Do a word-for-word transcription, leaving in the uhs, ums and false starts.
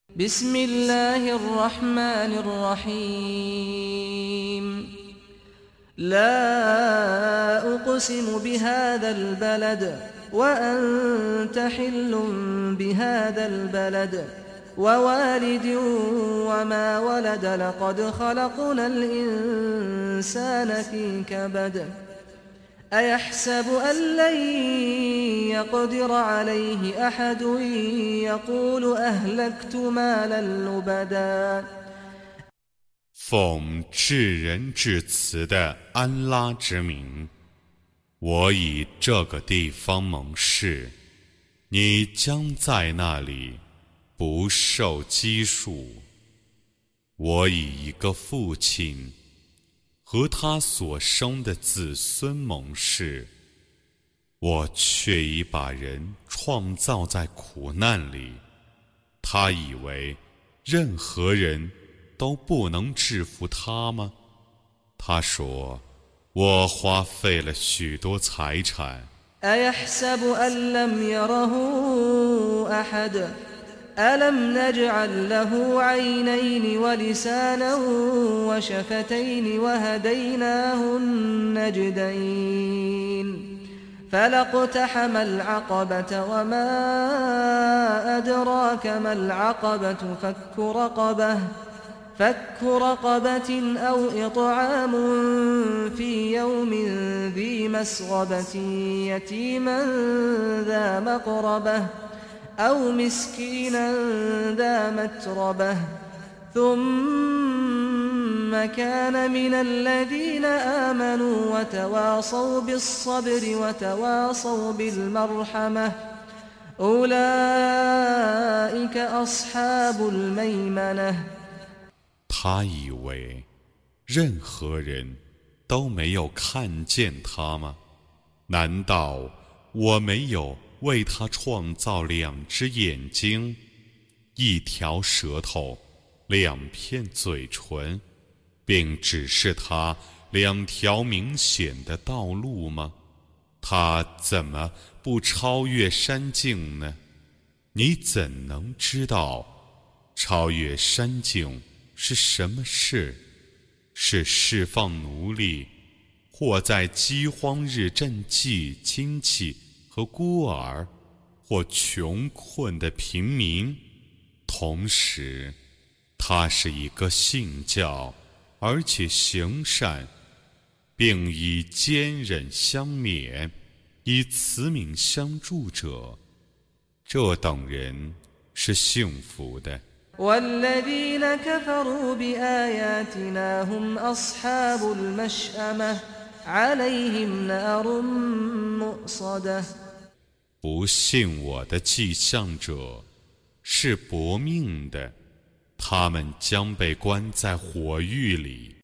بسم الله الرحمن الرحيم لا أقسم بهذا البلد وأنت حل بهذا البلد ووالد وما ولد لقد خلقنا الإنسان في كبد أيحسب أن لن يقدر عليه أحد يقول أهلكت مالا لبدا 奉至仁至慈的安拉之名，我以这个地方盟誓，你将在那里不受拘束。我以一个父亲和他所生的子孙盟誓，我却已把人创造在苦难里。他以为任何人都不能制服他吗？他说，我花费了许多财产。 أيحسب أن لم يره أحد ألم نجعل له عينين ولسانا وشفتين وهديناه النجدين فلاقتحم العقبة وما أدراك ما العقبة فك رقبة فك رقبة أو إطعام في يوم ذي مسغبة يتيما ذا مقربة أو مسكينا ذا متربة ثم كان من الذين آمنوا وتواصوا بالصبر وتواصوا بالمرحمة أولئك أصحاب الميمنة 他以为任何人都没有看见他吗？难道我没有为他创造两只眼睛，一条舌头，两片嘴唇，并指示他两条明显的道路吗？他怎么不超越山径呢？你怎能知道超越山径是什么事？是释放奴隶，或在饥荒日赈济亲戚和孤儿，或穷困的平民。同时，他是一个信教而且行善，并以坚忍相勉，以慈悯相助者，这等人是幸福的。 والذين كفروا بآياتنا هم أصحاب المشأمة عليهم نار مؤصدة 不信我的迹象者是薄命的，他们将被关在火狱里。